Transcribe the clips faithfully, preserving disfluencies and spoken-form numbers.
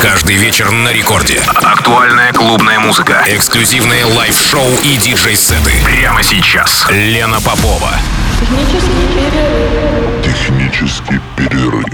Каждый вечер на рекорде. Актуальная клубная музыка, эксклюзивные лайв-шоу и диджей-сеты. Прямо сейчас. Лена Попова. Технический перерыв. Технический перерыв.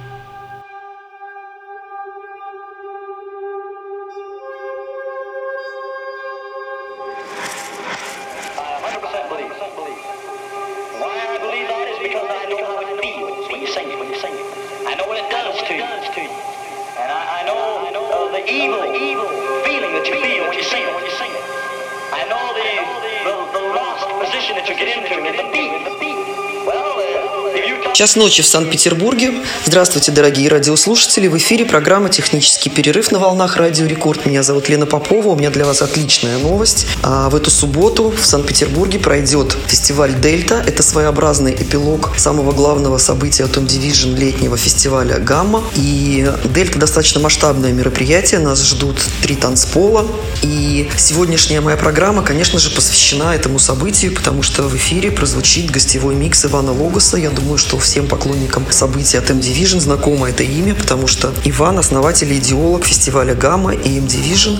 Час ночи в Санкт-Петербурге. Здравствуйте, дорогие радиослушатели. В эфире программа «Технический перерыв» на волнах Радио Рекорд. Меня зовут Лена Попова. У меня для вас отличная новость. А в эту субботу в Санкт-Петербурге пройдет фестиваль «Дельта». Это своеобразный эпилог самого главного события Atom Division летнего фестиваля «Гамма». И «Дельта» достаточно масштабное мероприятие. Нас ждут три танцпола. И сегодняшняя моя программа, конечно же, посвящена этому событию, потому что в эфире прозвучит гостевой микс Ивана Логоса. Я думаю, что всем поклонникам событий Atom Division знакомо это имя, потому что Иван — основатель и идеолог фестиваля «Гамма» и эм Division.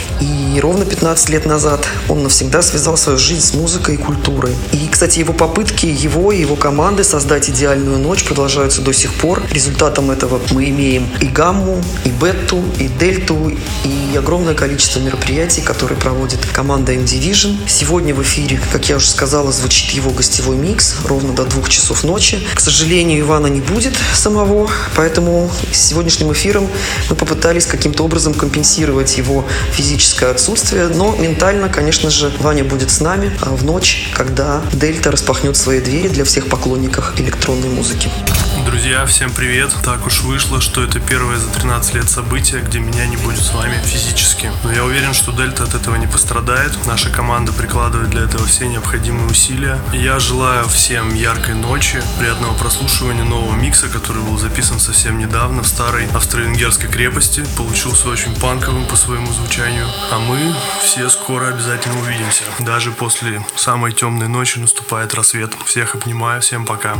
И ровно пятнадцать лет назад он навсегда связал свою жизнь с музыкой и культурой. И, кстати, его попытки, его и его команды создать идеальную ночь продолжаются до сих пор. Результатом этого мы имеем и «Гамму», и «Бетту», и «Дельту», и огромное количество мероприятий, которые проводит команда эм Division. Сегодня в эфире, как я уже сказала, звучит его гостевой микс ровно до двух часов ночи. К сожалению, Ивана не будет самого, поэтому с сегодняшним эфиром мы попытались каким-то образом компенсировать его физическое отсутствие, но ментально, конечно же, Ваня будет с нами в ночь, когда «Дельта» распахнет свои двери для всех поклонников электронной музыки. Друзья, всем привет! Так уж вышло, что это первое за тринадцать лет событие, где меня не будет с вами физически. Но я уверен, что «Дельта» от этого не пострадает. Наша команда прикладывает для этого все необходимые усилия. И я желаю всем яркой ночи, приятного прослушивания нового микса, который был записан совсем недавно в старой австро-венгерской крепости. Получился очень панковым по своему звучанию. А мы все скоро обязательно увидимся. Даже после самой темной ночи наступает рассвет. Всех обнимаю, всем пока.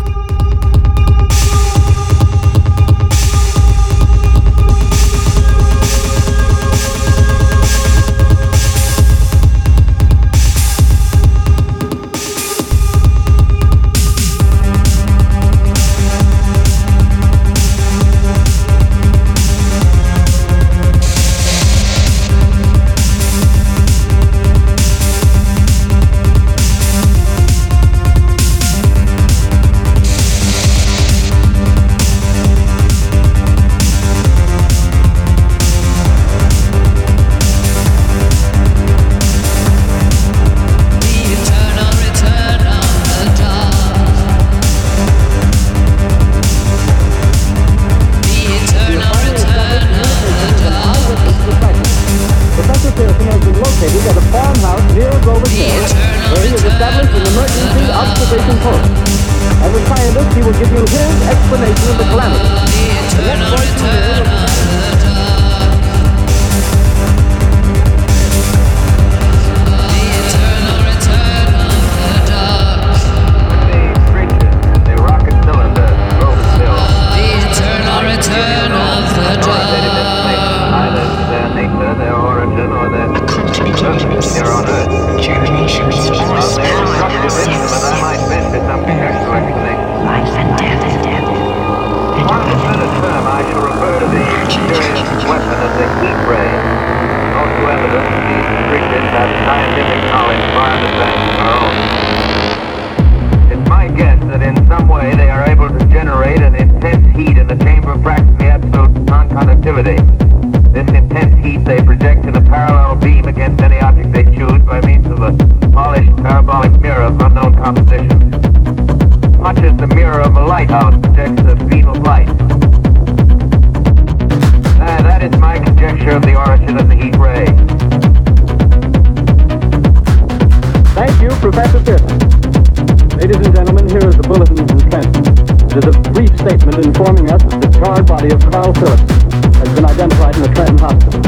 Informing us that the charred body of Carl Phillips has been identified in the Trenton Hospital.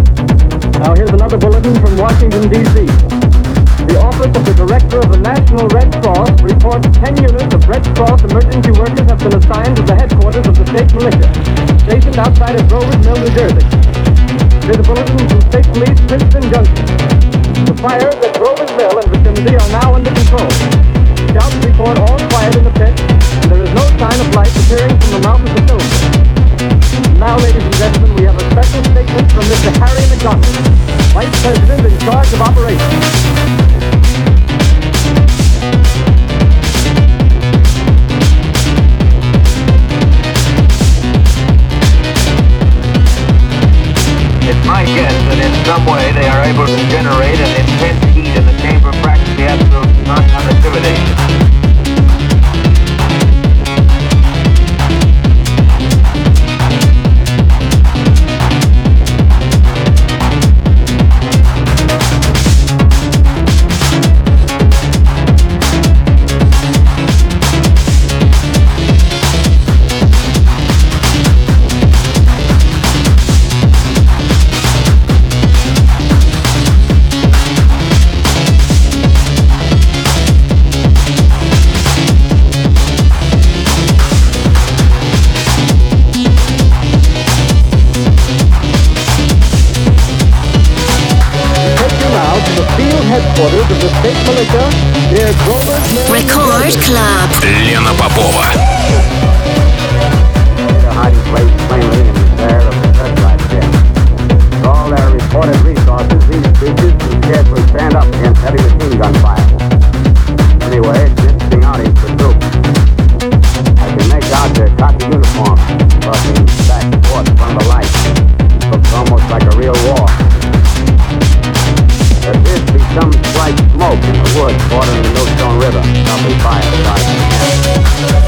Now here's another bulletin from Washington, D C The Office of the Director of the National Red Cross reports ten units of Red Cross emergency workers have been assigned to the headquarters of the state militia. stationed outside of Grover's Mill, New Jersey. There's a bulletin from State Police, Princeton Junction. The fires at Grover's Mill and vicinity are now under control. Scouts report all quiet in the pit, and there is no sign of life appearing from the mouth of the cylinder. Now, ladies and gentlemen, we have a special statement from Mister Harry McDonald, Vice President in charge of operations. It's my guess that in some way they are able to generate an intense heat in the chamber practically absolute non-conductivity. Headquarters of the state militia near Grover's Mill. Record Club. Лена Попова. The hiding place plainly in the glare of the searchlight jet. With all their reported resources, these creatures can scarcely stand up against heavy machine gun fire. Anyway, it's an interesting outing for troops. I can make out their khaki uniforms, crossing back and forth in front of the light. Looks almost like a real war. There appears to be some slight smoke in the woods bordering the Millstone River, probably fire starting to camp.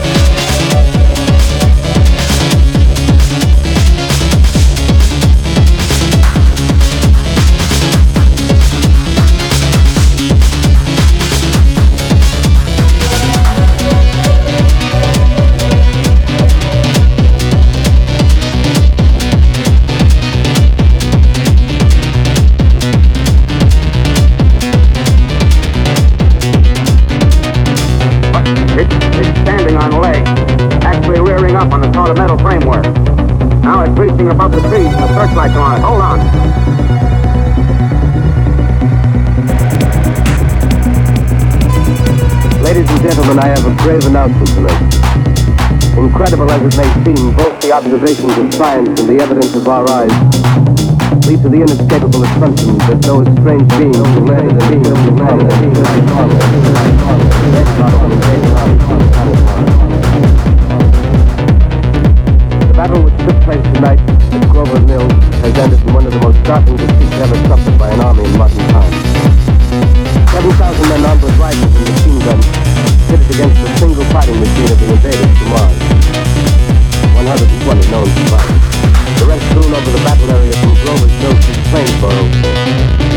Up on the solid metal framework. Now it's reaching above the trees and the searchlights are on it. Hold on. Ladies and gentlemen, I have a grave announcement to make. Incredible as it may seem, both the observations of science and the evidence of our eyes lead to the inescapable assumption that those strange beings who landed in the field landed in the The battle which took place tonight at Grover Mill has ended in one of the most startling defeats ever suffered by an army in modern times. Seven thousand men armed with rifles and machine guns pitted against the single fighting machine of the invaders from Mars. one hundred twenty known survivors. The rest strewn over the battle area from Grover's Mill to Plainsboro.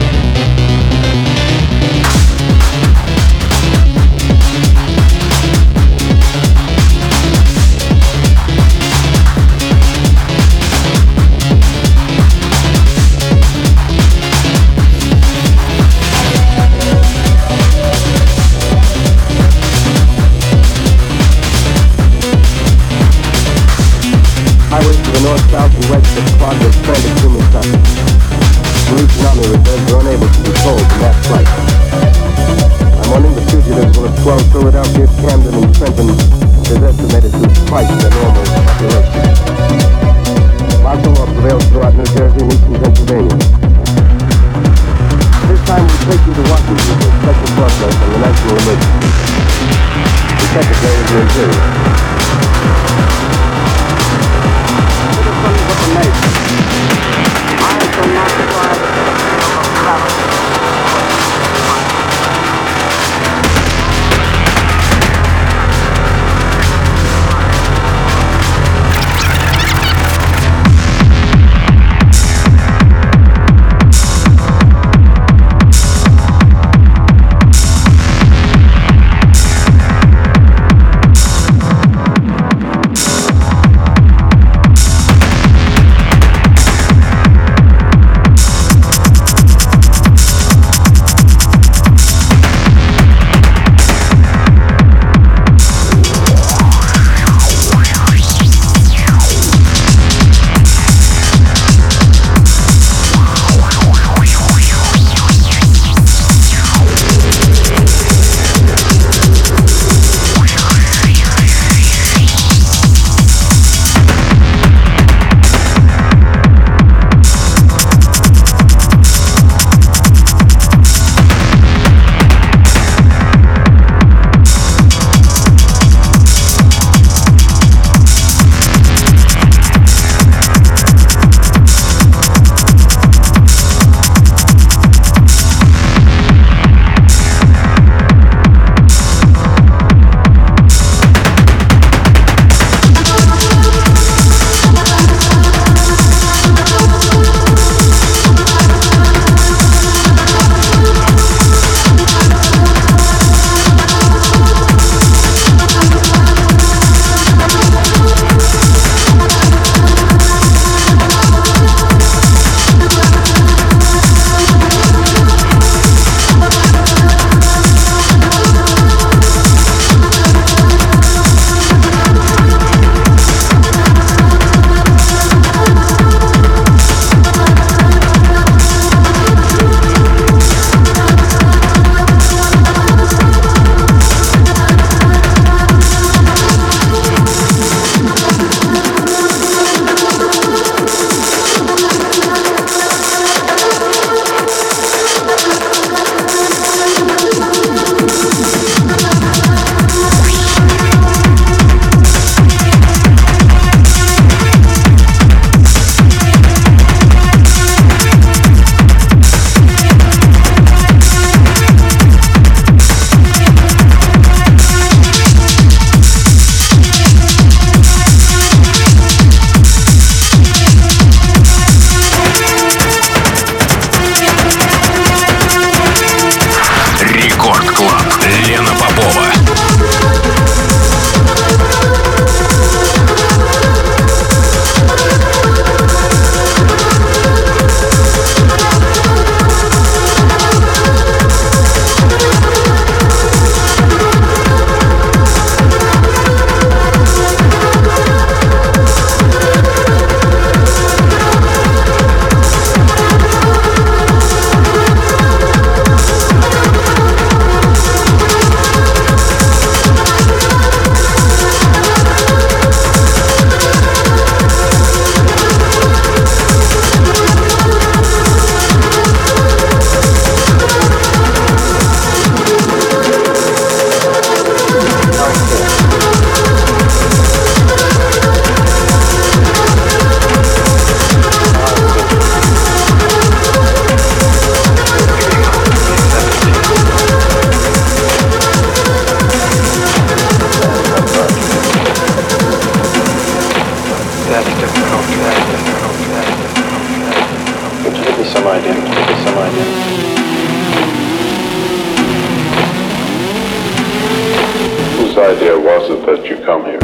North, south, and west of Quad was stranded human traffic. Police and army reserves were unable to be told in that flight. I'm warning the fugitives will have swelled Philadelphia, Camden, and Trenton, which is estimated to twice their normal population. Martial law prevails throughout New Jersey and eastern Pennsylvania. This time we take you to Washington for a special broadcast on the national emergency. The Secretary of the Interior. I shall not try to that's different, okay, that's different, okay, that's different, okay. Could you give me some idea? Could you give me some idea? Whose idea was it that you come here?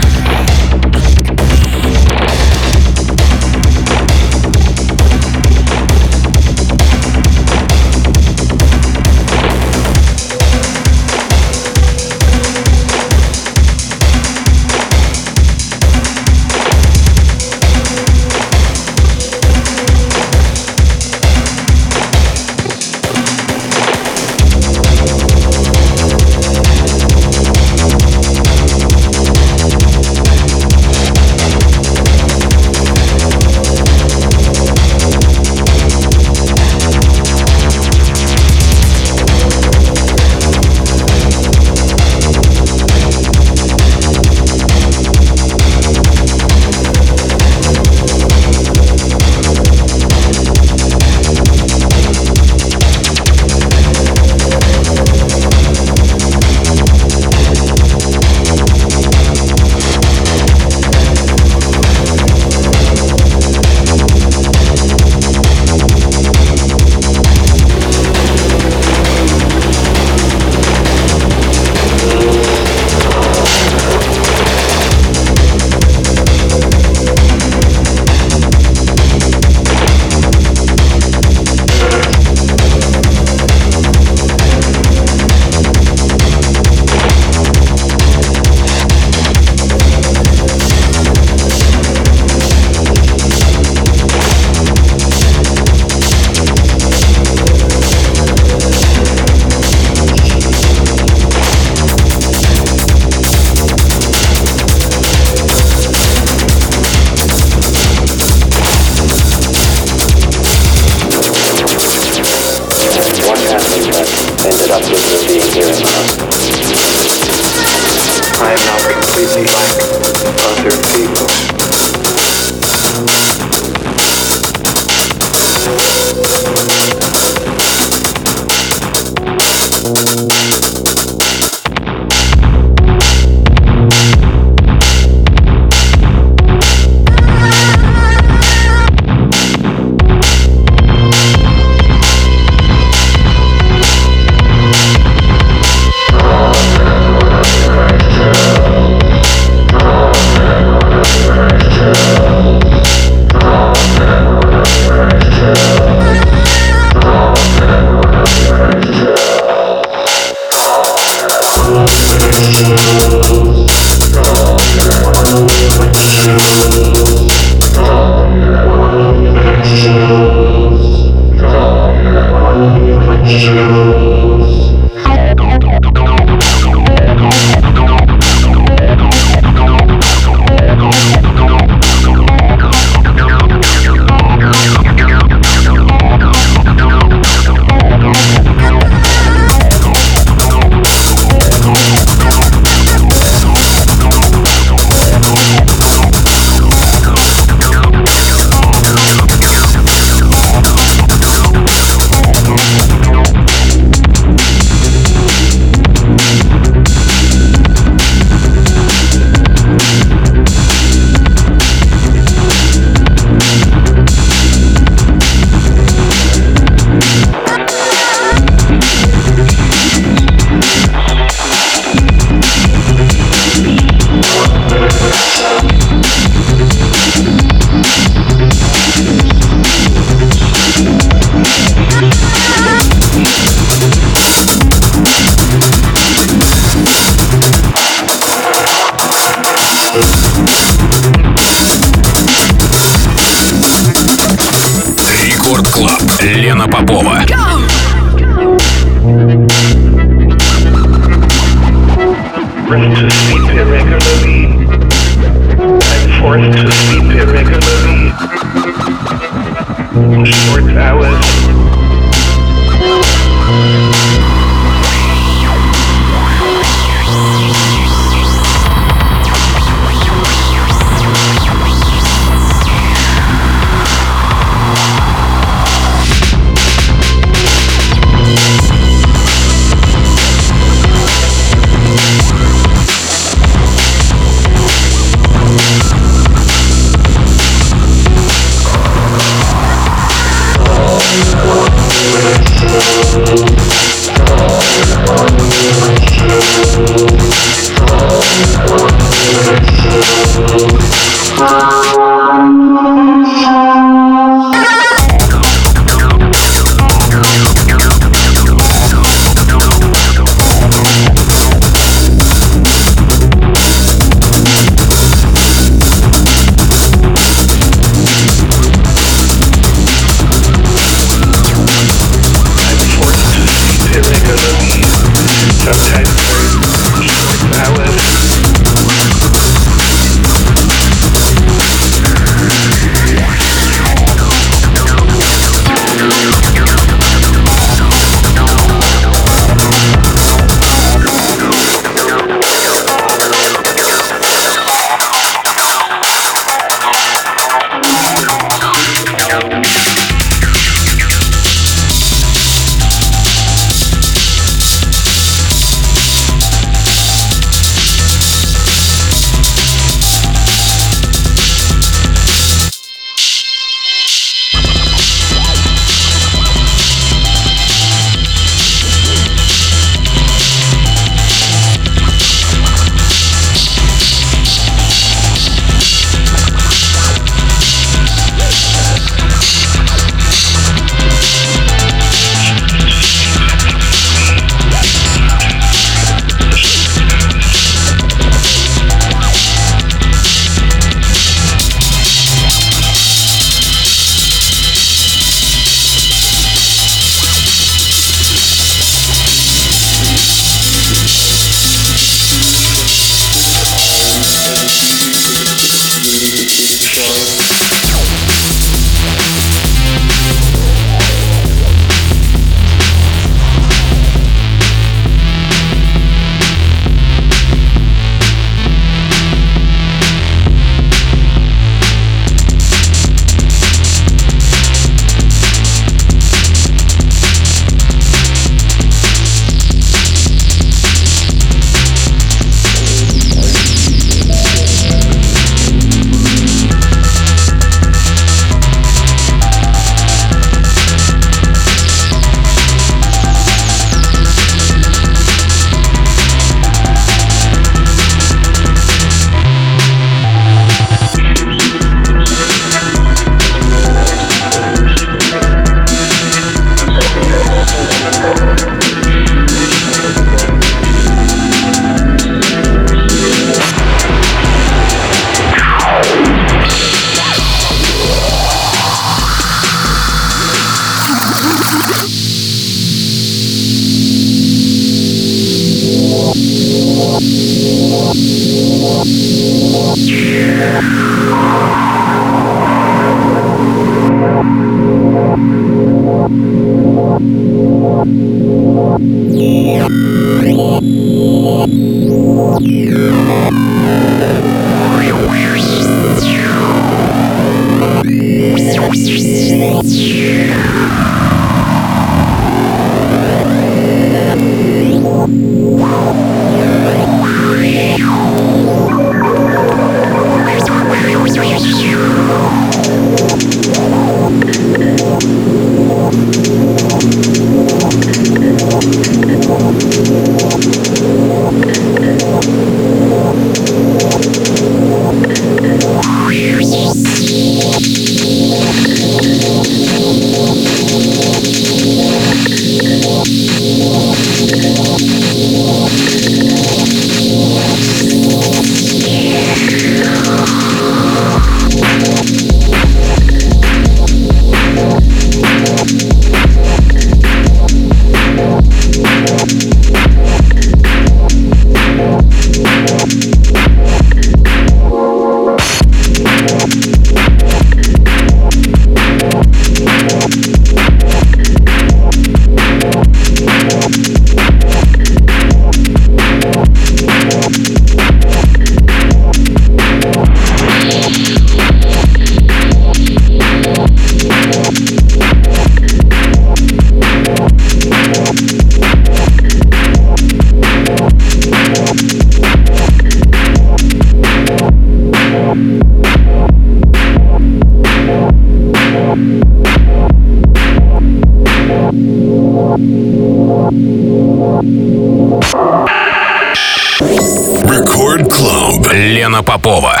Record Club. Лена Попова.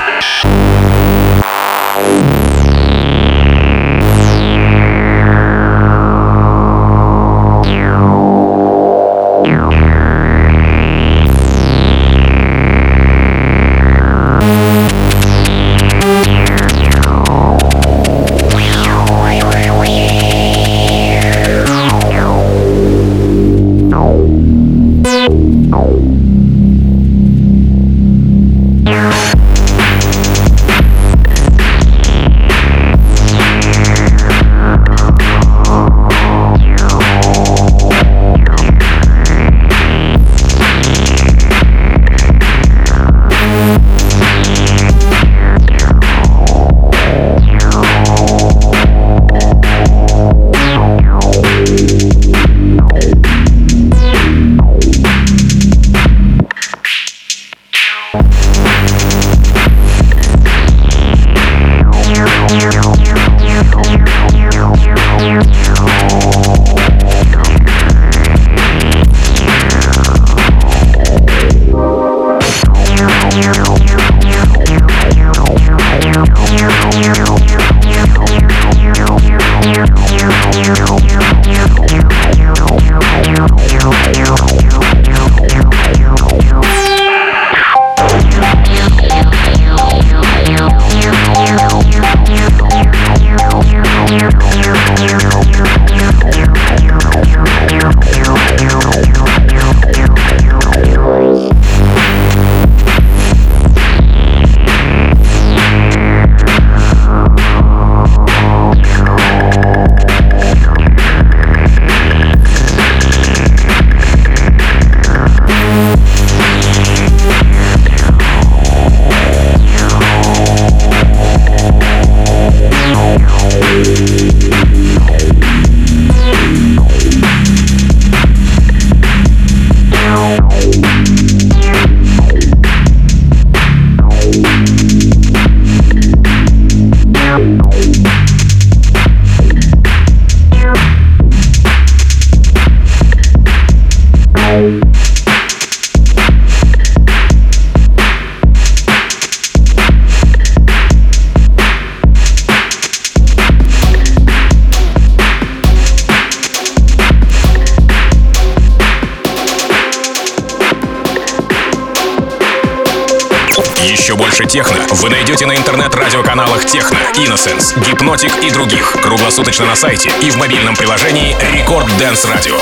Еще больше техно вы найдете на интернет-радиоканалах Техно, Innocence, Гипнотик и других. Круглосуточно на сайте и в мобильном приложении Record Dance Radio.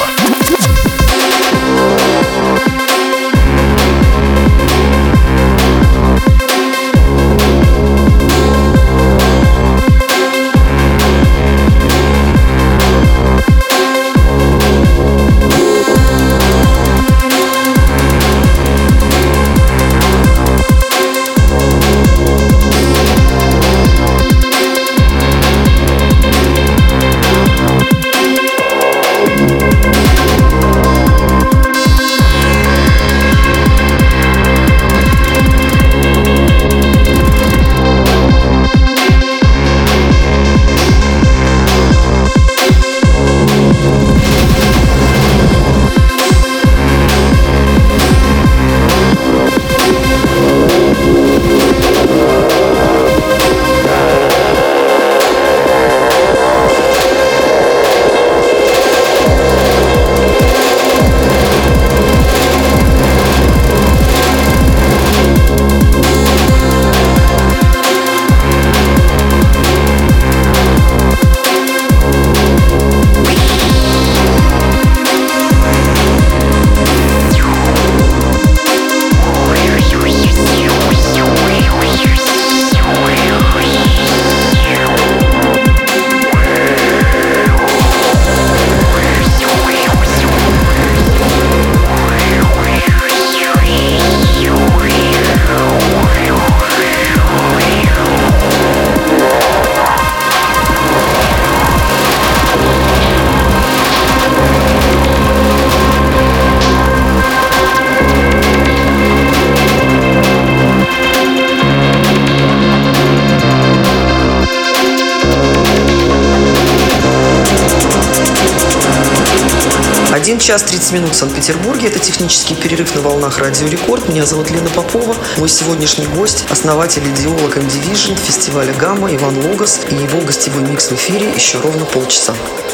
один час тридцать минут в Санкт-Петербурге. Это технический перерыв на волнах Радио Рекорд. Меня зовут Лена Попова. Мой сегодняшний гость – основатель идеолог эм Division, фестиваля «Гамма» Иван Логос. И его гостевой микс в эфире еще ровно полчаса.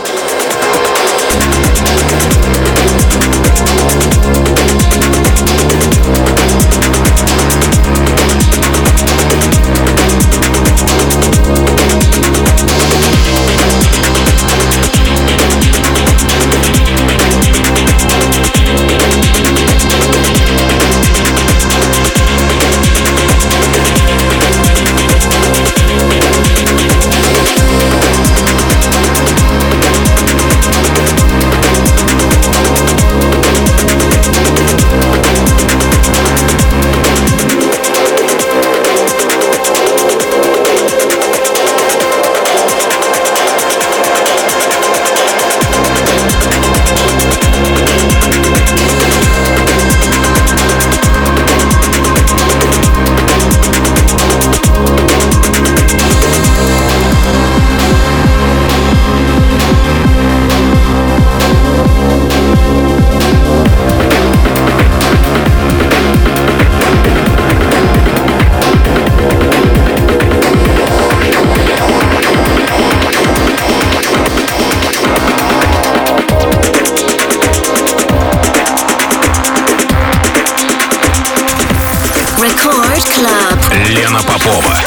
Лена Попова.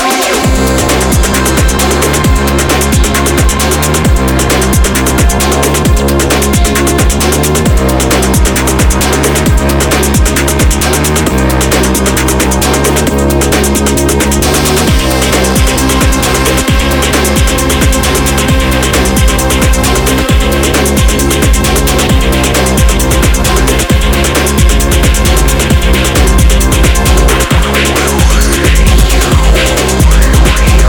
We'll be right back.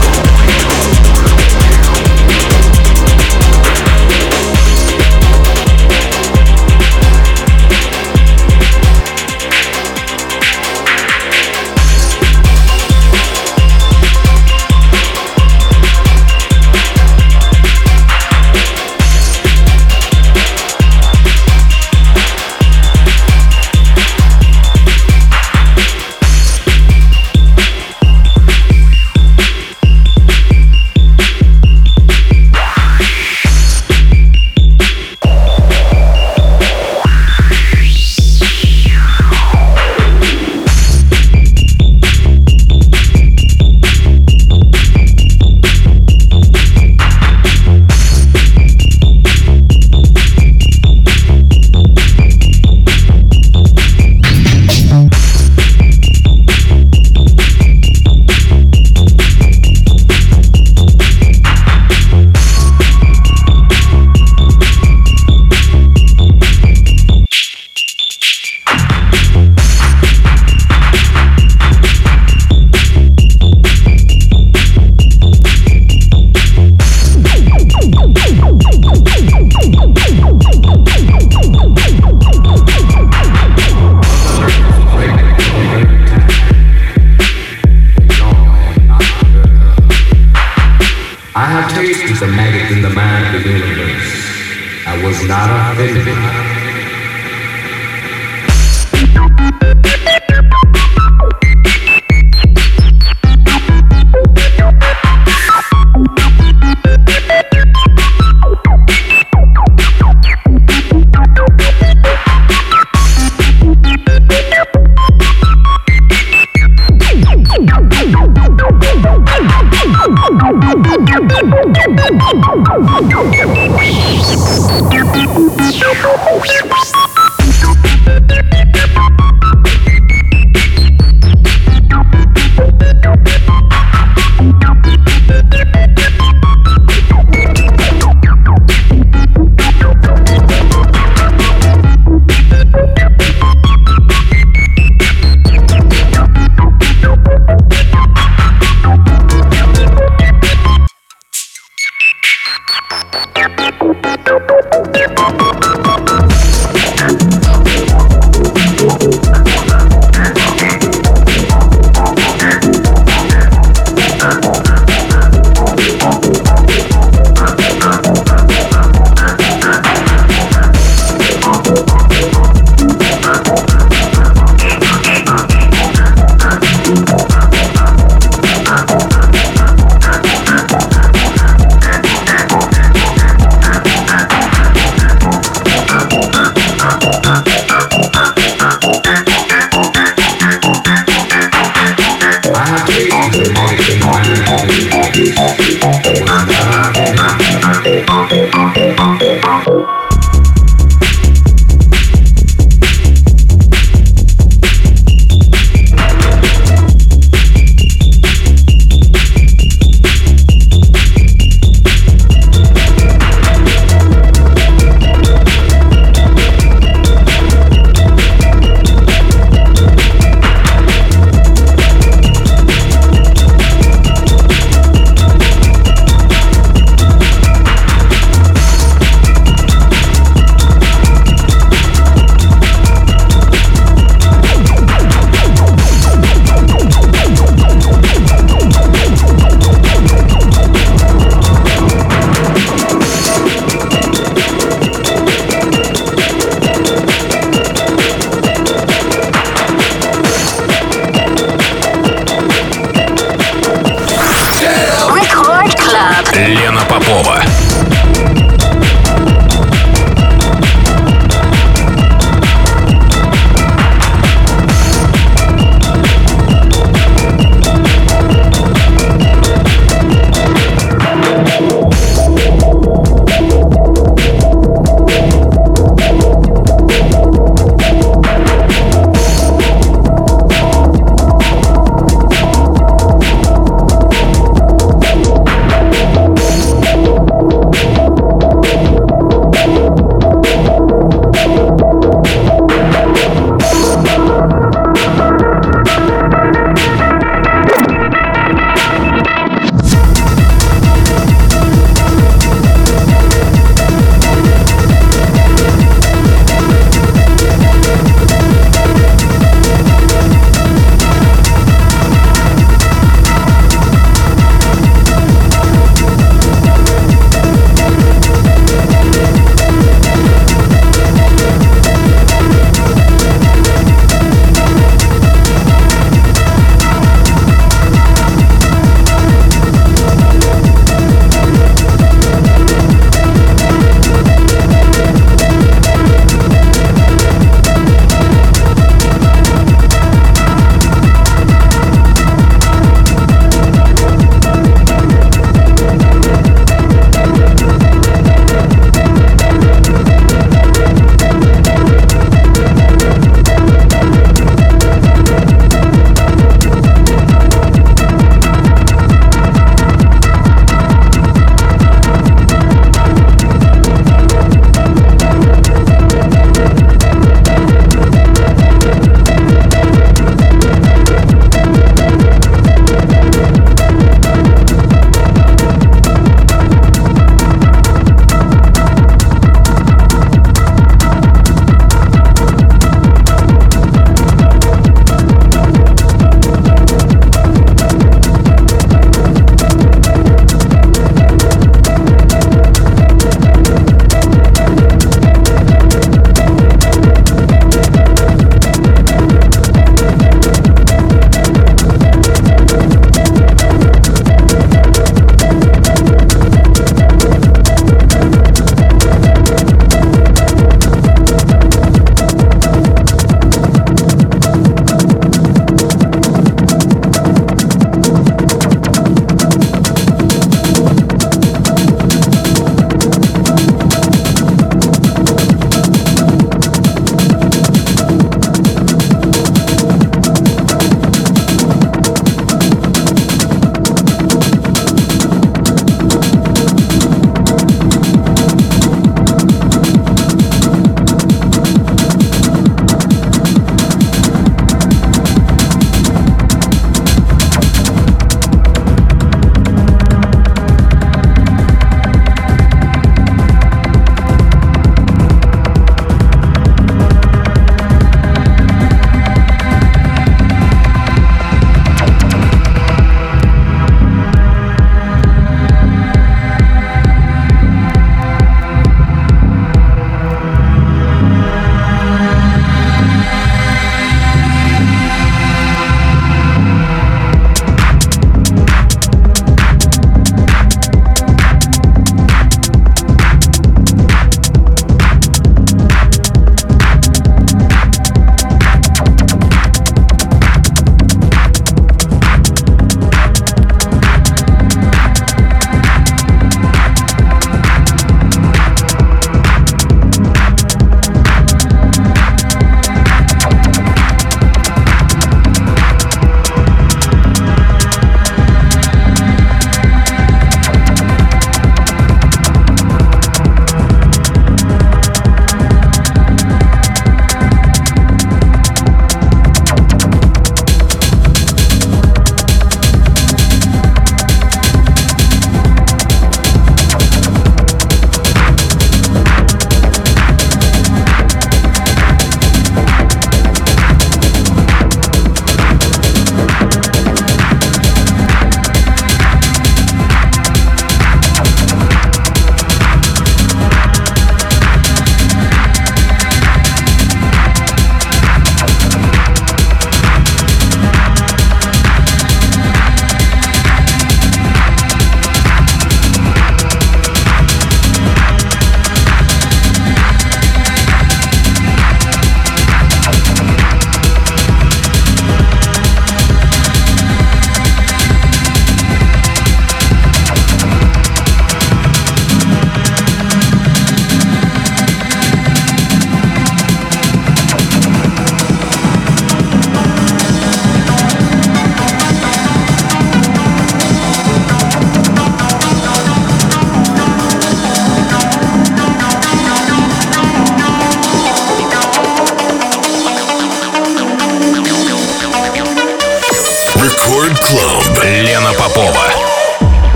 Рекорд Клуб. Лена Попова.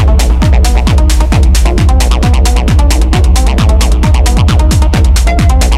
We'll be right back.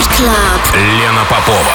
Club. Лена Попова.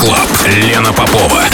Клаб. Лена Попова.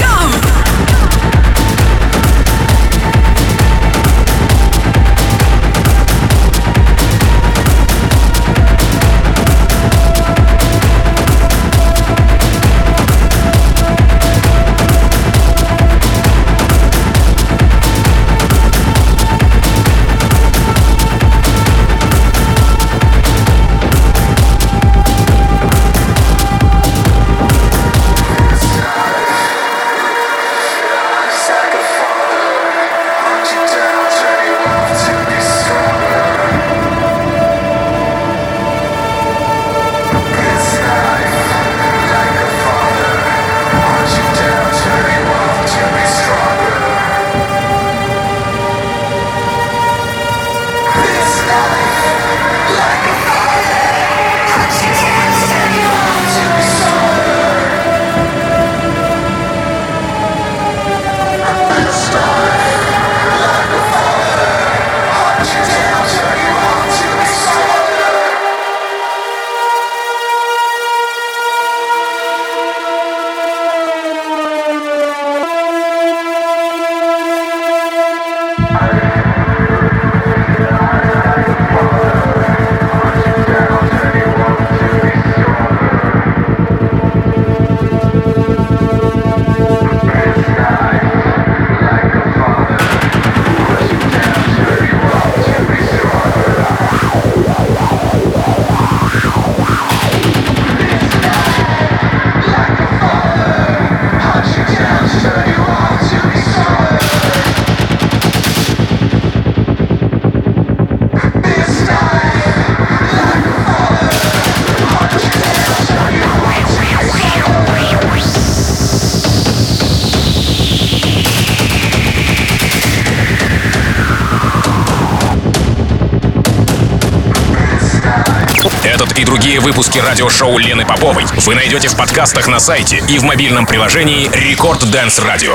Этот и другие выпуски радиошоу Лены Поповой вы найдете в подкастах на сайте и в мобильном приложении Record Dance Radio.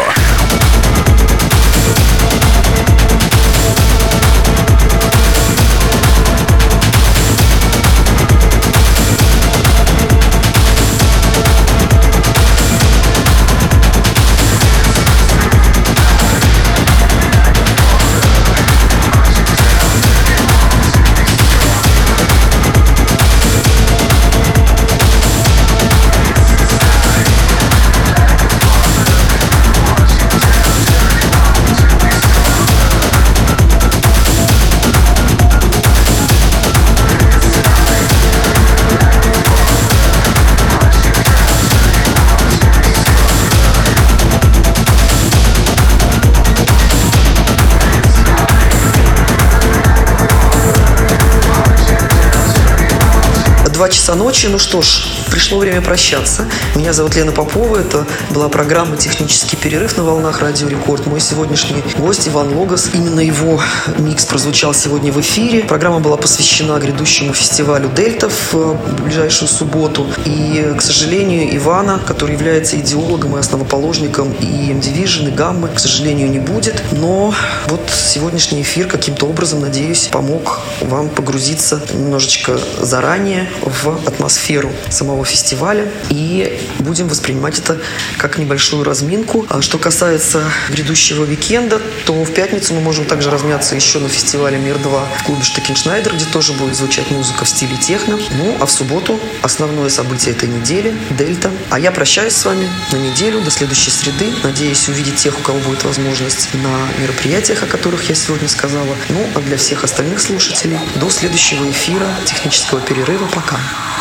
Два часа ночи. Ну что ж, пришло время прощаться. Меня зовут Лена Попова. Это была программа «Технический перерыв» на волнах Радио Рекорд. Мой сегодняшний гость Иван Логос. Именно его микс прозвучал сегодня в эфире. Программа была посвящена грядущему фестивалю «Дельта» в ближайшую субботу. И, к сожалению, Ивана, который является идеологом и основоположником и эм-Division, и Гаммы, к сожалению, не будет. Но вот сегодняшний эфир каким-то образом, надеюсь, помог вам погрузиться немножечко заранее в атмосферу самого фестиваля, и будем воспринимать это как небольшую разминку. А что касается грядущего уикенда, то в пятницу мы можем также размяться еще на фестивале Мир два в клубе Штекеншнайдер, где тоже будет звучать музыка в стиле техно. Ну, а в субботу основное событие этой недели — Дельта. А я прощаюсь с вами на неделю, до следующей среды. Надеюсь увидеть тех, у кого будет возможность на мероприятиях, о которых я сегодня сказала. Ну, а для всех остальных слушателей до следующего эфира, технического перерыва. Пока.